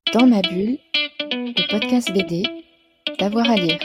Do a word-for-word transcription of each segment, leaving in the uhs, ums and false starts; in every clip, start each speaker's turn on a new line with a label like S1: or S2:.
S1: Dans ma bulle, le podcast B D, d'avoir à lire.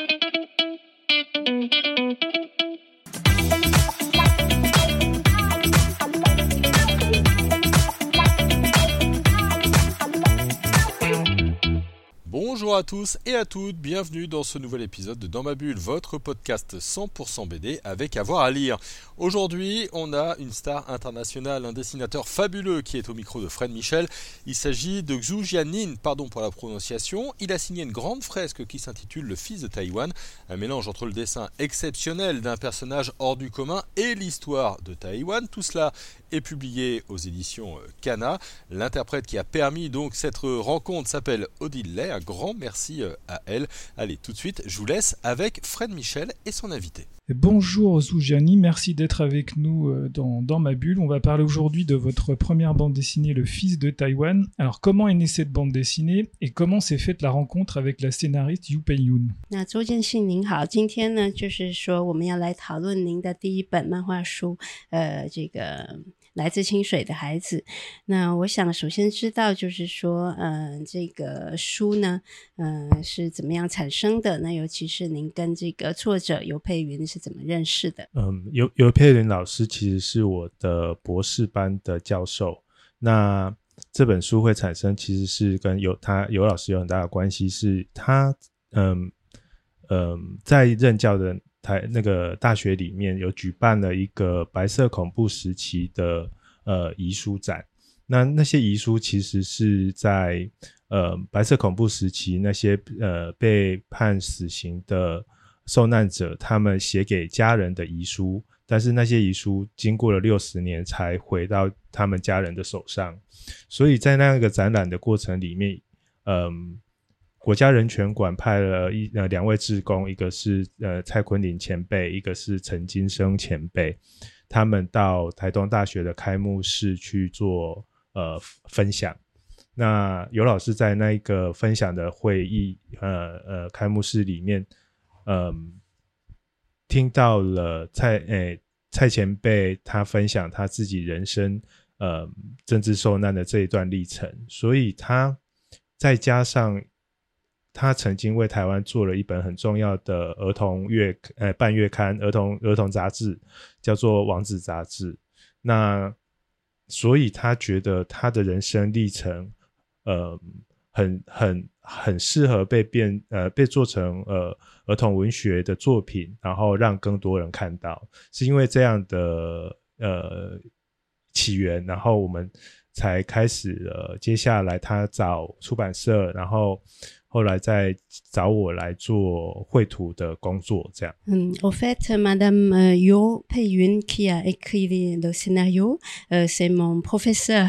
S2: Bonjour à tous et à toutes, bienvenue dans ce nouvel épisode de Dans ma bulle, votre podcast cent pour cent B D avec avoir à lire. Aujourd'hui, on a une star internationale, un dessinateur fabuleux qui est au micro de Fred Michel. Il s'agit de Xu Jianin, pardon pour la prononciation. Il a signé une grande fresque qui s'intitule Le Fils de Taïwan, un mélange entre le dessin exceptionnel d'un personnage hors du commun et l'histoire de Taïwan. Tout cela est publié aux éditions Kana. L'interprète qui a permis donc cette rencontre s'appelle Odile Lay. Un grand merci à elle. Allez, tout de suite, je vous laisse avec Fred Michel et son invité.
S3: Bonjour Xu Jianin, merci d'être avec nous dans, dans ma bulle. On va parler aujourd'hui de votre première bande dessinée, Le Fils de Taïwan. Alors, comment est née cette bande dessinée et comment s'est faite la rencontre avec la scénariste Yu Peiyun?
S4: 那周建信您好，今天呢就是说我们要来讨论您的第一本漫画书，呃，这个来自清水的孩子。那我想首先知道就是说，呃，这个书呢，呃，是怎么样产生的？那尤其是您跟这个作者尤佩云是怎么认识的？
S5: 嗯，尤尤佩云老师其实是我的博士班的教授。那这本书会产生，其实是跟尤他尤老师有很大的关系，是他嗯嗯在任教的台那个大学里面有举办了一个白色恐怖时期的呃遗书展。那那些遗书其实是在呃白色恐怖时期那些呃被判死刑的受难者他们写给家人的遗书，但是那些遗书经过了六十年才回到他们家人的手上。所以在那个展览的过程里面，嗯，国家人权馆派了一呃两位志工，一个是呃蔡坤林前辈，一个是陈金生前辈，他们到台东大学的开幕式去做呃分享。那尤老师在那个分享的会议呃呃开幕式里面，嗯，听到了蔡诶蔡前辈他分享他自己人生呃政治受难的这一段历程，所以他再加上他曾经为台湾做了一本很重要的儿童月呃半月刊儿童儿童杂志，叫做王子杂志。那所以他觉得他的人生历程呃很很很适合被变呃被做成呃儿童文学的作品，然后让更多人看到。是因为这样的呃起源，然后我们才开始呃接下来他找出版社，然后后来再找我来做绘图的工作，这样。
S4: 嗯 au fait, Madame euh, Yo Peiyun qui a écrit le scénario, euh, c'est mon professeur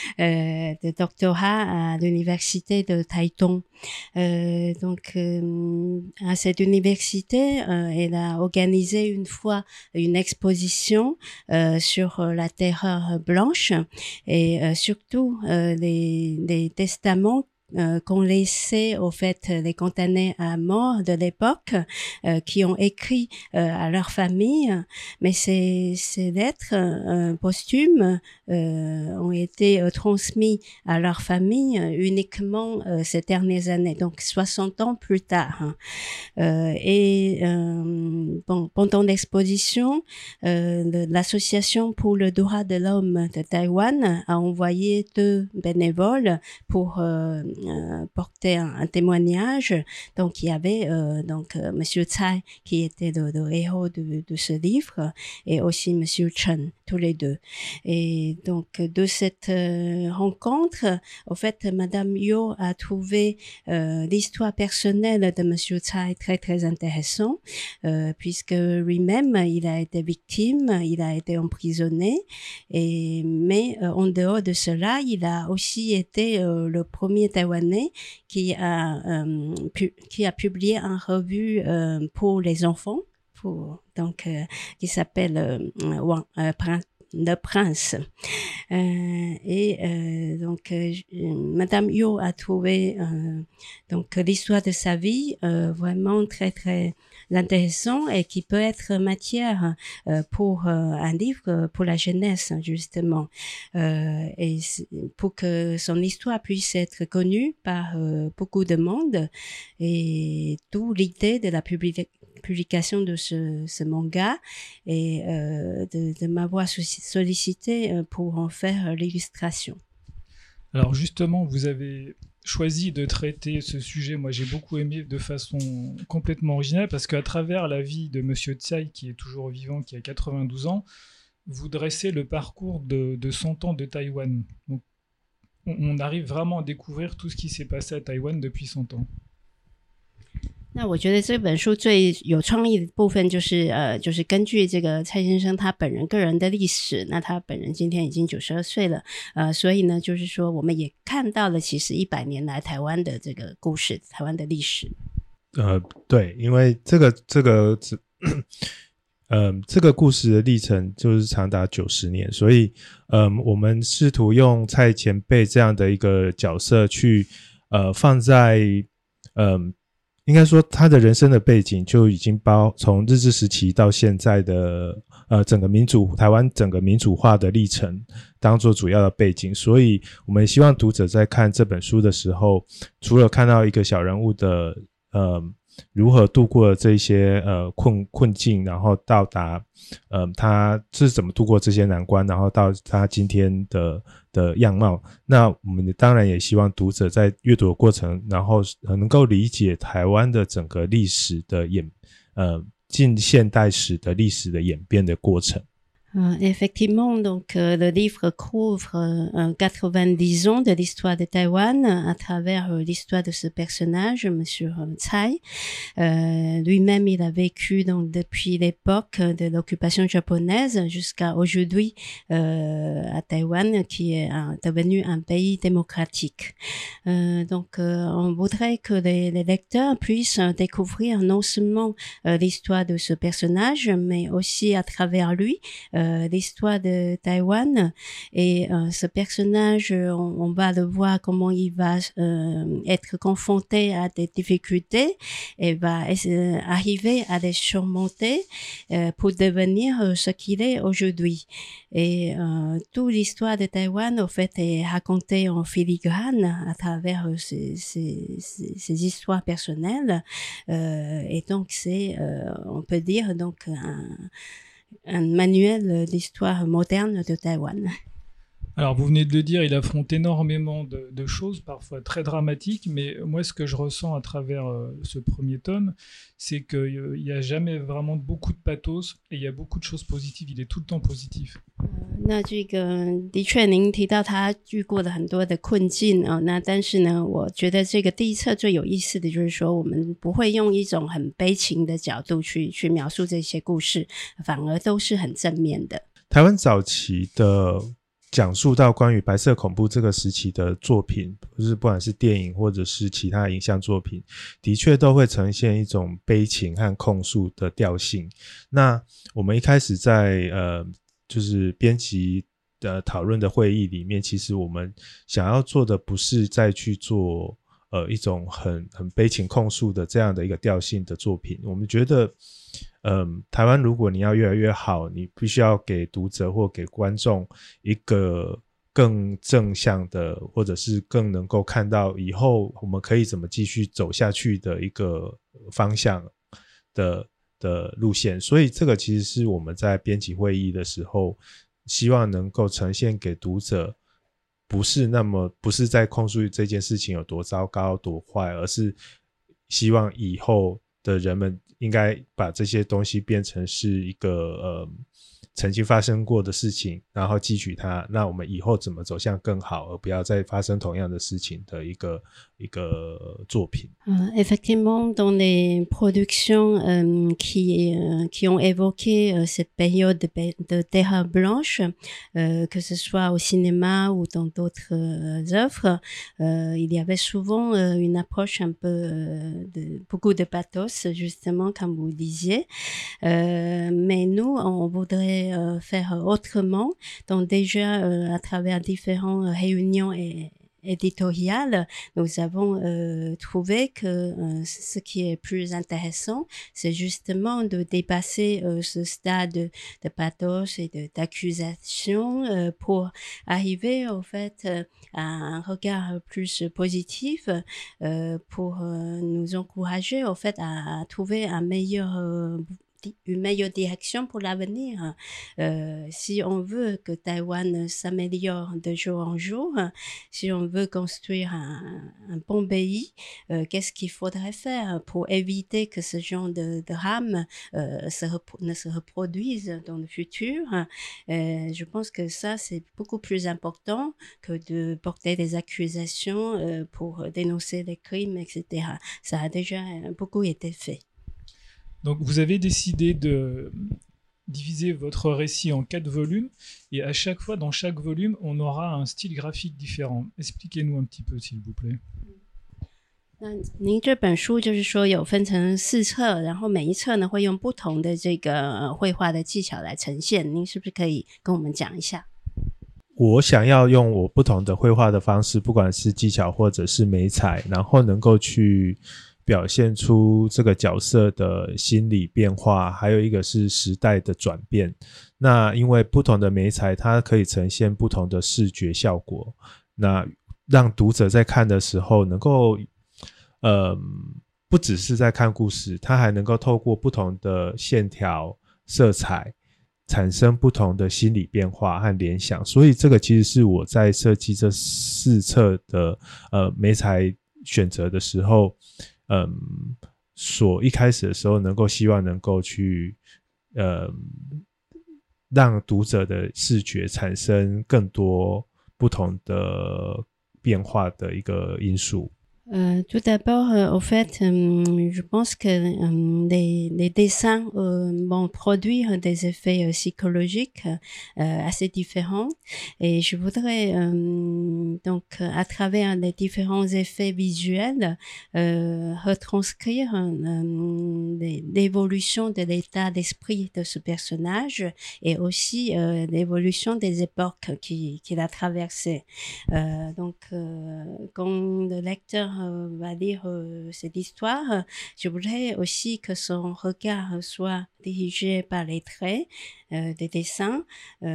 S4: euh, de doctorat à l'université de Taitung. Euh, donc, euh, à cette université, euh, elle a organisé une fois une exposition euh, sur la terreur blanche et euh, surtout euh, les, les testaments Euh, qu'ont laissé au fait les condamnés à mort de l'époque, euh, qui ont écrit euh, à leur famille, mais ces, ces lettres euh, posthumes euh, ont été euh, transmis à leur famille euh, uniquement euh, ces dernières années, donc soixante ans plus tard. Hein. Euh, et euh, bon, pendant l'exposition, euh, le, l'association pour le droit de l'homme de Taïwan a envoyé deux bénévoles pour euh, Euh, porter un, un témoignage. Donc il y avait euh, donc euh, Monsieur Tsai qui était le, le héros de, de ce livre et aussi Monsieur Chen, tous les deux. Et donc de cette euh, rencontre, au fait, Madame Yo a trouvé euh, l'histoire personnelle de Monsieur Tsai très très intéressant, euh, puisque lui-même il a été victime, il a été emprisonné, et mais euh, en dehors de cela, il a aussi été euh, le premier Taïwanais qui a euh, pu, qui a publié une revue euh, pour les enfants, pour donc euh, qui s'appelle euh, Wang, euh, le prince. Euh, et euh, donc, euh, Madame Yo a trouvé euh, donc l'histoire de sa vie euh, vraiment très très intéressant et qui peut être matière euh, pour euh, un livre pour la jeunesse justement euh, et pour que son histoire puisse être connue par euh, beaucoup de monde et d'où l'idée de la publi- publication de ce, ce manga et euh, de, de m'avoir sollicité pour en faire l'illustration.
S3: Alors justement, vous avez choisi de traiter ce sujet, moi j'ai beaucoup aimé, de façon complètement originale, parce qu'à travers la vie de Monsieur Tsai, qui est toujours vivant, qui a quatre-vingt-douze ans, vous dressez le parcours de, de cent ans de Taïwan. Donc, on, on arrive vraiment à découvrir tout ce qui s'est passé à Taïwan depuis cent ans.
S4: 那我觉得这本书最有创意的部分就是呃，就是根据这个蔡先生他本人个人的历史，那他本人今天已经九十二岁了，呃，所以呢，就是说我们也看到了其实一百年来台湾的这个故事，台湾的历史。
S5: 呃，对，因为这个这个嗯，这个故事的历程就是长达九十年，所以嗯，我们试图用蔡前辈这样的一个角色去呃放在嗯。应该说他的人生的背景就已经包从日治时期到现在的呃整个民主台湾整个民主化的历程当做主要的背景，所以我们希望读者在看这本书的时候，除了看到一个小人物的呃如何度过了这些呃困困境，然后到达呃他是怎么度过这些难关，然后到他今天的的样貌。那我们当然也希望读者在阅读的过程，然后能够理解台湾的整个历史的演呃近现代史的历史的演变的过程。
S4: Euh, effectivement, donc euh, le livre couvre euh, quatre-vingt-dix ans de l'histoire de Taïwan à travers euh, l'histoire de ce personnage, Monsieur Tsai. Euh, lui-même, il a vécu donc depuis l'époque de l'occupation japonaise jusqu'à aujourd'hui euh, à Taïwan, qui est un, devenu un pays démocratique. Euh, donc, euh, on voudrait que les, les lecteurs puissent découvrir non seulement euh, l'histoire de ce personnage, mais aussi à travers lui. Euh, l'histoire de Taïwan et euh, ce personnage, on, on va le voir comment il va euh, être confronté à des difficultés et va euh, arriver à les surmonter euh, pour devenir euh, ce qu'il est aujourd'hui. Et euh, toute l'histoire de Taïwan, au fait, est racontée en filigrane à travers euh, ces, ces, ces, ces histoires personnelles. Euh, et donc, c'est, euh, on peut dire, donc un un manuel d'histoire moderne de Taïwan.
S3: Alors, vous venez de le dire, il affronte énormément de, de choses, parfois très dramatiques, mais moi, ce que je ressens à travers euh, ce premier tome, c'est qu'il n'y a jamais vraiment beaucoup de pathos et il y a beaucoup de choses positives. Il est tout le temps positif.
S4: 那这个的确，您提到他遇过了很多的困境啊、哦，那但是呢，我觉得这个第一册最有意思的就是说，我们不会用一种很悲情的角度去去描述这些故事，反而都是很正面的。
S5: 台湾早期的讲述到关于白色恐怖这个时期的作品，就是不管是电影或者是其他影像作品，的确都会呈现一种悲情和控诉的调性。那我们一开始在呃就是编辑的讨论的会议里面，其实我们想要做的不是再去做呃一种很很悲情控诉的这样的一个调性的作品。我们觉得嗯，台湾如果你要越来越好，你必须要给读者或给观众一个更正向的，或者是更能够看到以后我们可以怎么继续走下去的一个方向的的路线。所以这个其实是我们在编辑会议的时候希望能够呈现给读者，不是那么不是在控诉这件事情有多糟糕多坏，而是希望以后的人们应该把这些东西变成是一个呃曾经发生过的事情，然后汲取它，那我们以后怎么走向更好，而不要再发生同样的事情的一个一个作品。
S4: Euh, effectivement, dans les productions euh, qui, euh, qui ont évoqué euh, cette période de, de terre blanche, euh, que ce soit au cinéma ou dans d'autres euh, œuvres, euh, il y avait souvent euh, une approche un peu euh, de beaucoup de pathos, justement, comme vous disiez. Euh, mais nous, on voudrait pourrait euh, faire autrement. Donc déjà, euh, à travers différentes réunions et éditoriales, nous avons euh, trouvé que euh, ce qui est plus intéressant, c'est justement de dépasser euh, ce stade de, de pathos et de, d'accusation euh, pour arriver au fait euh, à un regard plus positif euh, pour euh, nous encourager au fait à, à trouver un meilleur euh, une meilleure direction pour l'avenir. Euh, si on veut que Taïwan s'améliore de jour en jour, si on veut construire un, un bon pays, euh, qu'est-ce qu'il faudrait faire pour éviter que ce genre de drame euh, se repro- ne se reproduise dans le futur? Euh, je pense que ça, c'est beaucoup plus important que de porter des accusations euh, pour dénoncer les crimes, et cetera. Ça a déjà beaucoup été fait.
S3: Donc vous avez décidé de diviser votre récit en quatre volumes et à chaque fois, dans chaque volume, on aura un style graphique différent. Expliquez-nous un petit peu, s'il vous plaît.
S4: 那您这本书就是说有分成四册，然后每一册呢会用不同的这个绘画的技巧来呈现，您是不是可以跟我们讲一下？
S5: 我想要用我不同的绘画的方式，不管是技巧或者是媒材，然后能够去表现出这个角色的心理变化，还有一个是时代的转变。那因为不同的媒材它可以呈现不同的视觉效果，那让读者在看的时候能够呃，不只是在看故事，它还能够透过不同的线条色彩产生不同的心理变化和联想。所以这个其实是我在设计这四册的呃媒材选择的时候嗯，所一开始的时候能够希望能够去呃让读者的视觉产生更多不同的变化的一个因素。
S4: Euh, tout d'abord, euh, au fait, euh, je pense que euh, les, les dessins euh, vont produire des effets euh, psychologiques euh, assez différents et je voudrais euh, donc à travers les différents effets visuels euh, retranscrire euh, l'évolution de l'état d'esprit de ce personnage et aussi euh, l'évolution des époques qu'il qui a traversées. Euh, donc, euh, quand le lecteur va lire euh, cette histoire, je voudrais aussi que son regard soit dirigé par les traits euh, des dessins,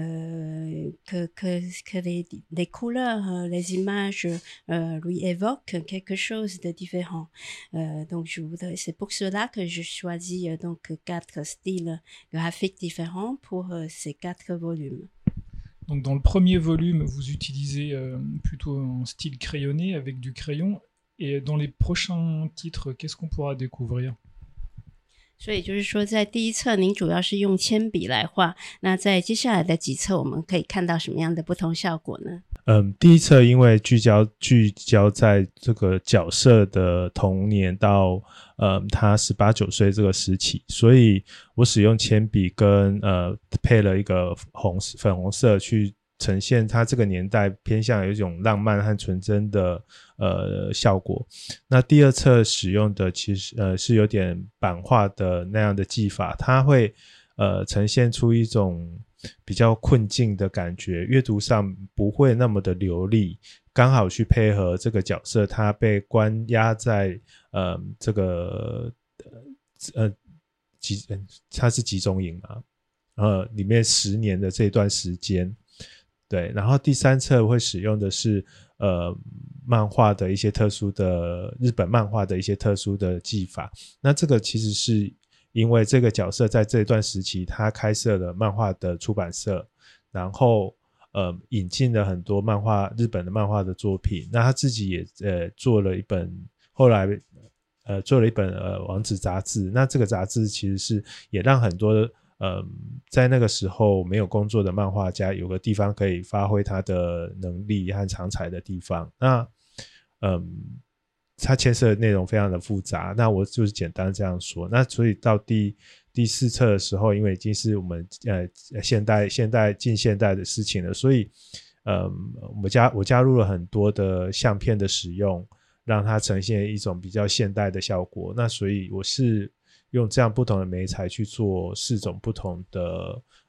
S4: euh, que, que, que les, les couleurs, les images euh, lui évoquent quelque chose de différent. Euh, donc, je voudrais, c'est pour cela que je choisis euh, donc quatre styles graphiques différents pour euh, ces quatre volumes.
S3: Donc, dans le premier volume, vous utilisez euh, plutôt un style crayonné avec du crayon. Et dans les prochains titres, qu'est-ce qu'on pourra découvrir?
S4: 所以就是说，在第一册您主要是用铅笔来画，那在接下来的几册，我们可以看到什么样的不同效果呢？
S5: 嗯，第一册因为聚焦聚焦在这个角色的童年到呃他十八九岁这个时期，所以我使用铅笔跟呃配了一个红粉红色去呈现他这个年代偏向有一种浪漫和纯真的呃效果。那第二册使用的其实呃是有点版画的那样的技法，它会呃呈现出一种比较困境的感觉，阅读上不会那么的流利，刚好去配合这个角色他被关押在呃这个呃集他是集中营嘛，呃里面十年的这段时间。对，然后第三册会使用的是呃漫画的一些特殊的日本漫画的一些特殊的技法。那这个其实是因为这个角色在这段时期他开设了漫画的出版社，然后呃引进了很多漫画日本的漫画的作品。那他自己也呃做了一本，后来呃做了一本呃王子杂志。那这个杂志其实是也让很多嗯，在那个时候没有工作的漫画家有个地方可以发挥他的能力和长才的地方。那嗯，它牵涉的内容非常的复杂，那我就是简单这样说。那所以到第第四册的时候，因为已经是我们呃现代现代近现代的事情了，所以嗯，我加我加入了很多的相片的使用，让它呈现一种比较现代的效果。那所以我是用这样不同的媒材去做四种不同的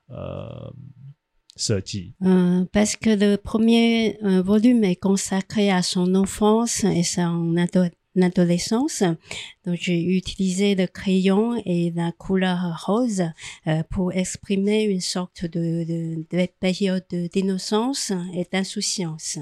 S5: 呃设计。
S4: Euh, parce que le premier euh, volume est consacré à son enfance et son ado- adolescence. Donc, j'ai utilisé le crayon et la couleur rose euh, pour exprimer une sorte de, de, de période d'innocence et d'insouciance.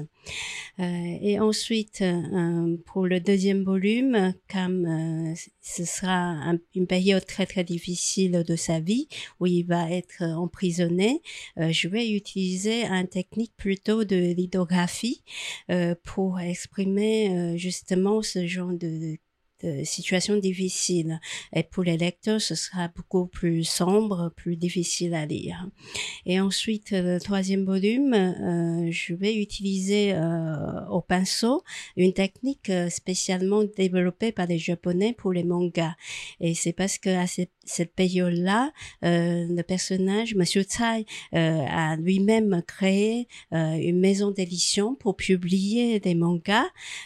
S4: Euh, et ensuite, euh, pour le deuxième volume, comme euh, ce sera un, une période très très difficile de sa vie, où il va être emprisonné, euh, je vais utiliser une technique plutôt de lithographie euh, pour exprimer euh, justement ce genre de de situations difficiles. Et pour les lecteurs, ce sera beaucoup plus sombre, plus difficile à lire. Et ensuite, le troisième volume, euh, je vais utiliser euh, au pinceau une technique euh, spécialement développée par les Japonais pour les mangas. Et c'est parce que à cette, cette période-là, euh, le personnage, Monsieur Tsai, euh, a lui-même créé euh, une maison d'édition pour publier des mangas,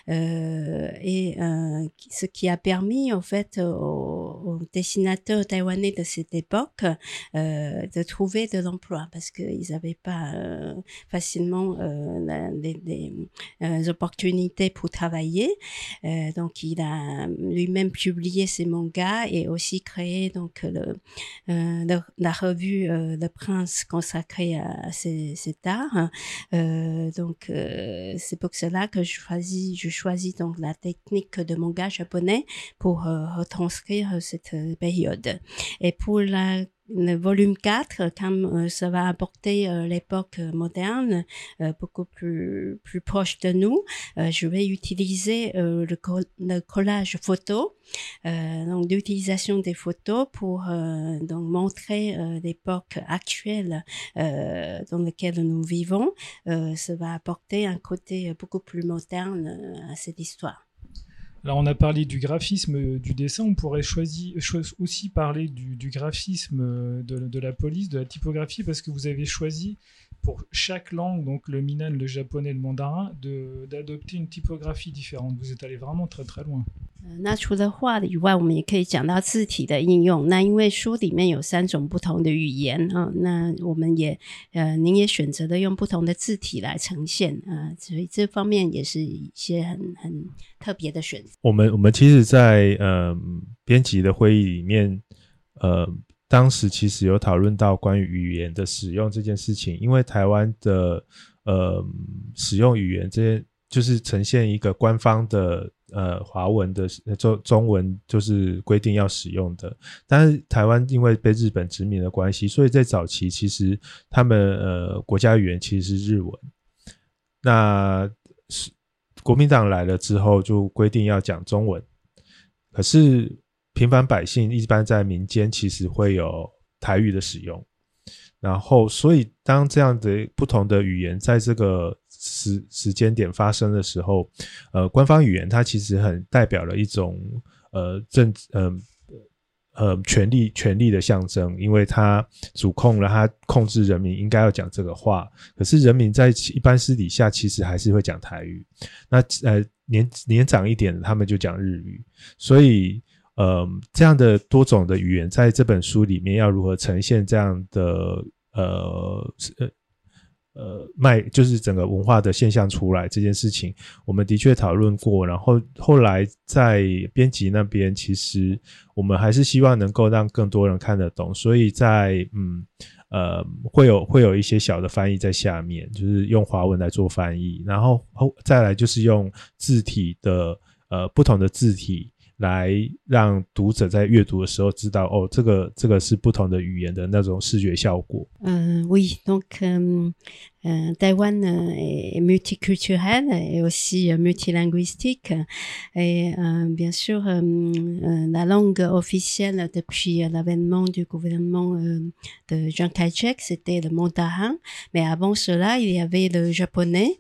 S4: euh, et euh, ce qui a permis en fait aux, aux dessinateurs taïwanais de cette époque euh, de trouver de l'emploi, parce qu'ils n'avaient pas euh, facilement euh, la, des, des euh, opportunités pour travailler. Euh, donc, il a lui-même publié ses mangas et aussi créé donc le, euh, le, la revue euh, Le Prince consacrée à, à ces, cet art. Euh, donc, euh, c'est pour cela que je choisis, je choisis donc la technique de manga japonais pour euh, retranscrire cette période. Et pour la le volume quatre, comme euh, ça va apporter euh, l'époque moderne, euh, beaucoup plus plus proche de nous, euh, je vais utiliser euh, le, co- le collage photo, euh, donc l'utilisation des photos pour euh, donc montrer euh, l'époque actuelle euh, dans laquelle nous vivons. Euh, ça va apporter un côté beaucoup plus moderne euh, à cette histoire.
S3: Alors, on a parlé du graphisme du dessin, on pourrait choisir, cho- aussi parler du, du graphisme de, de la police, de la typographie, parce que vous avez choisi pour chaque langue, donc le Minnan, le japonais, le mandarin, de, d'adopter une typographie différente. Vous êtes allé vraiment très très loin.
S4: 那除了画的以外，我们也可以讲到字体的应用。那因为书里面有三种不同的语言啊，那我们也呃，您也选择了用不同的字体来呈现啊，所以这方面也是一些很很特别的选择。
S5: 我们我们其实在，在呃编辑的会议里面，呃，当时其实有讨论到关于语言的使用这件事情，因为台湾的呃使用语言这些就是呈现一个官方的。呃，华文的中中文就是规定要使用的，但是台湾因为被日本殖民的关系，所以在早期其实他们呃国家语言其实是日文。那国民党来了之后，就规定要讲中文，可是平凡百姓一般在民间其实会有台语的使用。然后，所以当这样的不同的语言在这个时时间点发生的时候，呃，官方语言它其实很代表了一种呃政呃呃权力权力的象征，因为它主控了，它控制人民应该要讲这个话，可是人民在一般私底下其实还是会讲台语。那呃年年长一点的他们就讲日语，所以。呃，这样的多种的语言在这本书里面要如何呈现这样的呃呃卖，就是整个文化的现象出来这件事情，我们的确讨论过。然后后来在编辑那边，其实我们还是希望能够让更多人看得懂，所以在嗯呃会有会有一些小的翻译在下面，就是用华文来做翻译，然后再来就是用字体的呃不同的字体。来让读者在阅读的时候知道，哦，这个这个是不同的语言的那种视觉效果。
S4: Euh, oui, donc euh, euh, Taïwan est multiculturel et aussi euh, multilinguistique. Et euh, bien sûr, euh, euh, la langue officielle depuis l'avènement du gouvernement euh, de Chiang Kai-shek, c'était le mandarin. Mais avant cela, il y avait le japonais.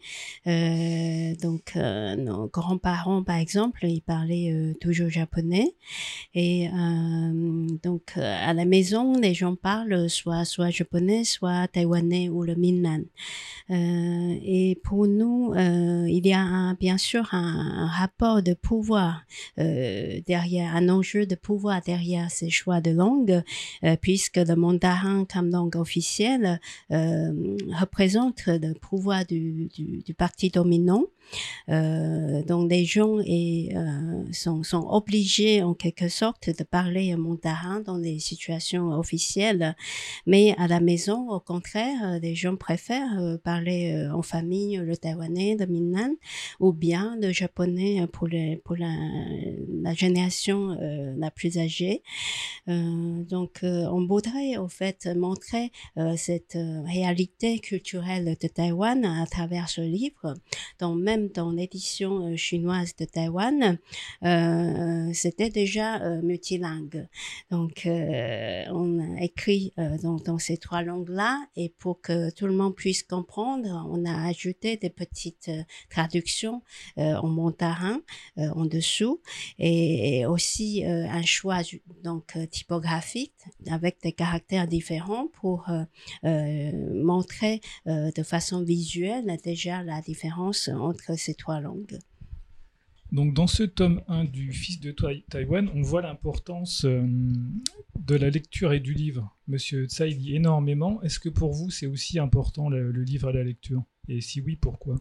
S4: Euh, donc, euh, nos grands-parents, par exemple, ils parlaient euh, toujours japonais. Et euh, donc, euh, à la maison, les gens parlent soit soit japonais, soit taïwanais ou le Minnan. Euh, et pour nous, euh, il y a un, bien sûr un, un rapport de pouvoir euh, derrière, un enjeu de pouvoir derrière ces choix de langue, euh, puisque le mandarin comme langue officielle euh, représente le pouvoir du, du, du parti dominant. Euh, donc les gens est, euh, sont, sont obligés en quelque sorte de parler mandarin dans les situations officielles, mais à la maison, au contraire, les gens préfèrent euh, parler euh, en famille le taïwanais, le minnan, ou bien le japonais pour, les, pour la, la génération euh, la plus âgée. Euh, donc euh, on voudrait en fait montrer euh, cette euh, réalité culturelle de Taïwan à travers ce livre. Donc même dans l'édition euh, chinoise de Taïwan, euh, c'était déjà euh, multilingue. Donc euh, on a écrit euh, dans, dans ces trois langues-là, et pour que tout le monde puisse comprendre, on a ajouté des petites euh, traductions euh, en mandarin euh, en dessous, et, et aussi euh, un choix donc euh, typographique avec des caractères différents pour euh, euh, montrer euh, de façon visuelle déjà la différence entre ces trois langues.
S3: Donc dans ce tome un du Fils de Taïwan, on voit l'importance euh, de la lecture et du livre. Monsieur Tsai lit énormément. Est-ce que pour vous c'est aussi important le, le livre et la lecture? Et si oui, pourquoi?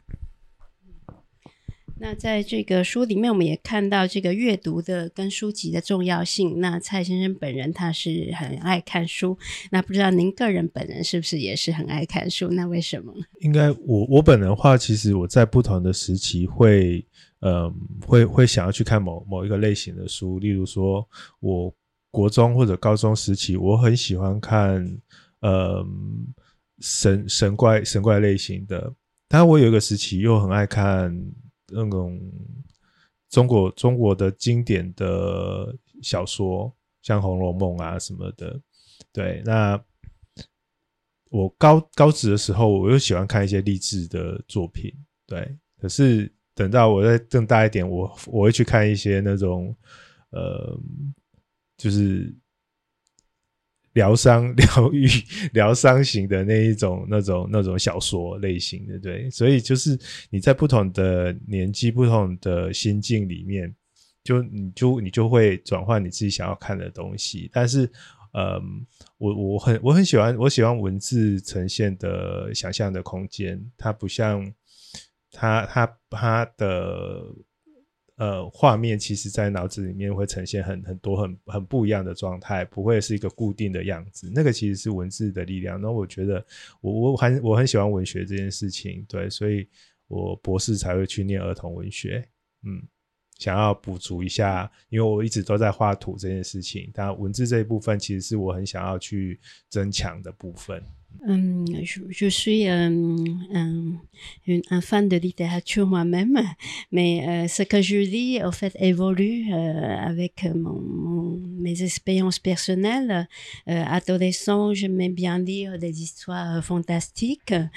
S4: 那在这个书里面，我们也看到这个阅读的跟书籍的重要性。那蔡先生本人他是很爱看书，那不知道您个人本人是不是也是很爱看书？那为什么？
S5: 应该我我本人的话，其实我在不同的时期会，呃，会会想要去看某某一个类型的书。例如说，我国中或者高中时期，我很喜欢看，呃，神神怪神怪类型的。但我有一个时期又很爱看那种中国中国的经典的小说，像《红楼梦》啊什么的。对，那我高高职的时候，我又喜欢看一些励志的作品。对，可是等到我再更大一点，我我会去看一些那种呃，就是疗伤、疗愈、疗伤型的那一种、那种、那种小说类型的，对。所以就是你在不同的年纪、不同的心境里面，就你就你就会转换你自己想要看的东西。但是，嗯，我我很我很喜欢我喜欢文字呈现的想象的空间，它不像它它它的。呃，画面其实在脑子里面会呈现很很多很很不一样的状态，不会是一个固定的样子。那个其实是文字的力量。那我觉得我我很我很喜欢文学这件事情，对，所以我博士才会去念儿童文学，嗯，想要补足一下，因为我一直都在画图这件事情，但文字这一部分其实是我很想要去增强的部分。
S4: Hum, je, je suis euh, un, une, un fan de littérature moi-même, mais euh, ce que je lis, en fait, évolue euh, avec mon, mon, mes expériences personnelles. Euh, adolescent, j'aimais bien lire des histoires fantastiques, euh,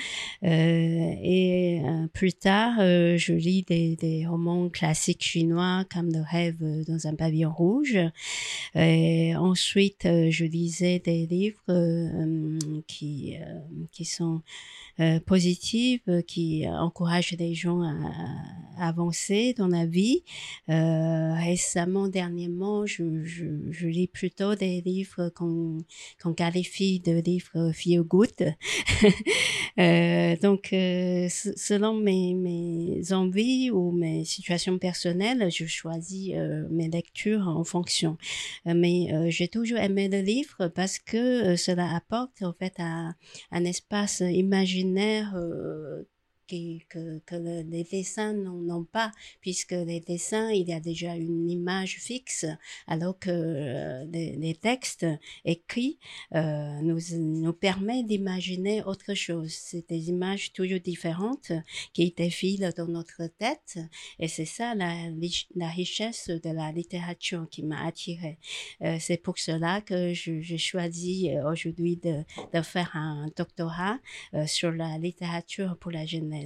S4: et euh, plus tard, euh, je lis des, des romans classiques chinois comme Le rêve dans un pavillon rouge. Et ensuite, euh, je lisais des livres euh, qui Euh, qui sont euh, positives, qui encouragent les gens à, à avancer dans la vie. Euh, récemment, dernièrement, je, je, je lis plutôt des livres qu'on, qu'on qualifie de livres feel good. euh, donc, euh, selon mes, mes envies ou mes situations personnelles, je choisis euh, mes lectures en fonction. Euh, mais euh, j'ai toujours aimé le livre parce que euh, cela apporte en fait à un espace imaginaire euh, qui, que, que le, les dessins n'ont pas, puisque les dessins, il y a déjà une image fixe, alors que euh, les, les textes écrits euh, nous, nous permettent d'imaginer autre chose. C'est des images toujours différentes qui défilent dans notre tête, et c'est ça la, la richesse de la littérature qui m'a attirée. Euh, c'est pour cela que je, je choisis aujourd'hui de, de faire un doctorat euh, sur la littérature pour la jeunesse.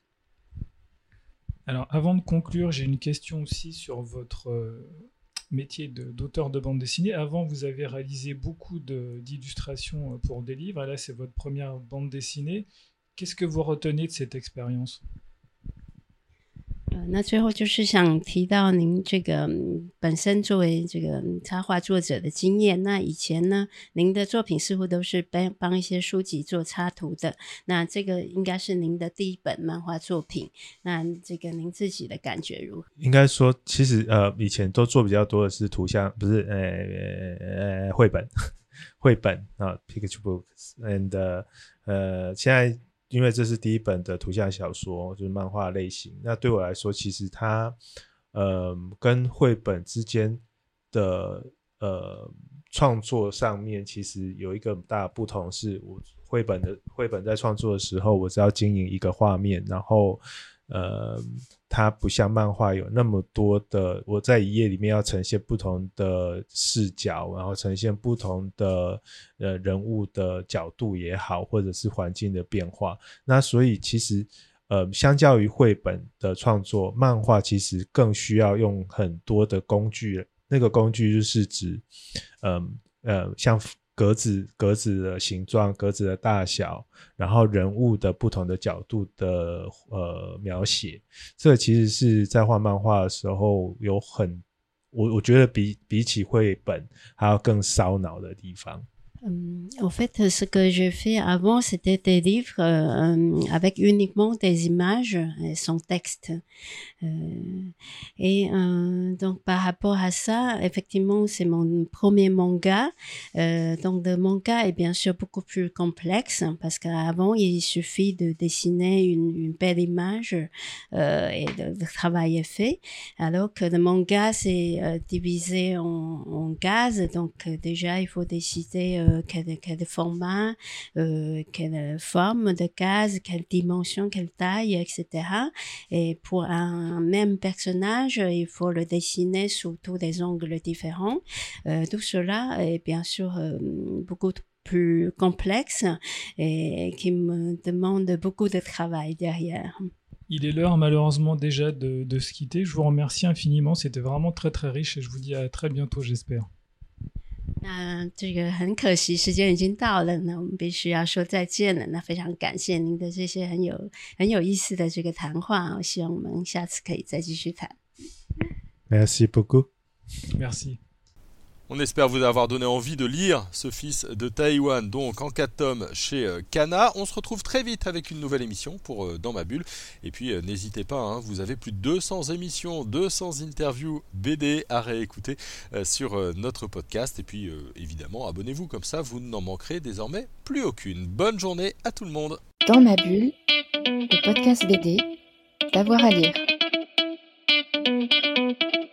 S3: Alors, avant de conclure, j'ai une question aussi sur votre euh, métier de, d'auteur de bande dessinée. Avant, vous avez réalisé beaucoup de, d'illustrations pour des livres. Et là, c'est votre première bande dessinée. Qu'est-ce que vous retenez de cette expérience？
S4: 呃，那最后就是想提到您这个、嗯、本身作为这个、嗯、插画作者的经验。那以前呢，您的作品似乎都是帮帮一些书籍做插图的。那这个应该是您的第一本漫画作品。那这个您自己的感觉如何？
S5: 应该说，其实呃，以前都做比较多的是图像，不是呃呃绘本，绘本啊 ，picture books，and 呃，现在。因为这是第一本的图像小说，就是漫画类型。那对我来说，其实它，呃，跟绘本之间的呃创作上面，其实有一个大的不同是，我绘本的绘本在创作的时候，我只要经营一个画面，然后呃，它不像漫画有那么多的，我在一页里面要呈现不同的视角，然后呈现不同的呃人物的角度也好，或者是环境的变化。那所以其实呃，相较于绘本的创作，漫画其实更需要用很多的工具，那个工具就是指呃呃像格子格子的形状，格子的大小，然后人物的不同的角度的呃描写，这个其实是在画漫画的时候有很我我觉得比比起绘本还要更烧脑的地方。
S4: Hum, en fait, ce que j'ai fait avant, c'était des livres euh, avec uniquement des images et sans texte. Euh, et euh, donc, par rapport à ça, effectivement, c'est mon premier manga. Euh, donc, le manga est bien sûr beaucoup plus complexe parce qu'avant, il suffit de dessiner une, une belle image euh, et le, le travail est fait. Alors que le manga, c'est euh, divisé en, en cases. Donc, euh, déjà, il faut décider euh, quel, quel format, euh, quelle forme de case, quelle dimension, quelle taille, et cetera. Et pour un même personnage, il faut le dessiner sous tous les angles différents. Euh, tout cela est bien sûr euh, beaucoup plus complexe et qui me demande beaucoup de travail derrière.
S3: Il est l'heure malheureusement déjà de, de se quitter. Je vous remercie infiniment, c'était vraiment très très riche et je vous dis à très bientôt j'espère.
S4: 那这个很可惜，时间已经到了，那我们必须要说再见了。那非常感谢您的这些很有很有意思的这个谈话，我希望我们下次可以再继续谈。
S5: Merci beaucoup.
S3: Merci.
S2: On espère vous avoir donné envie de lire ce fils de Taïwan, donc en quatre tomes chez Kana. On se retrouve très vite avec une nouvelle émission pour Dans ma bulle. Et puis euh, n'hésitez pas, hein, vous avez plus de deux cents émissions, deux cents interviews B D à réécouter euh, sur euh, notre podcast. Et puis euh, évidemment, abonnez-vous, comme ça vous n'en manquerez désormais plus aucune. Bonne journée à tout le monde.
S1: Dans ma bulle, le podcast B D, d'avoir à lire.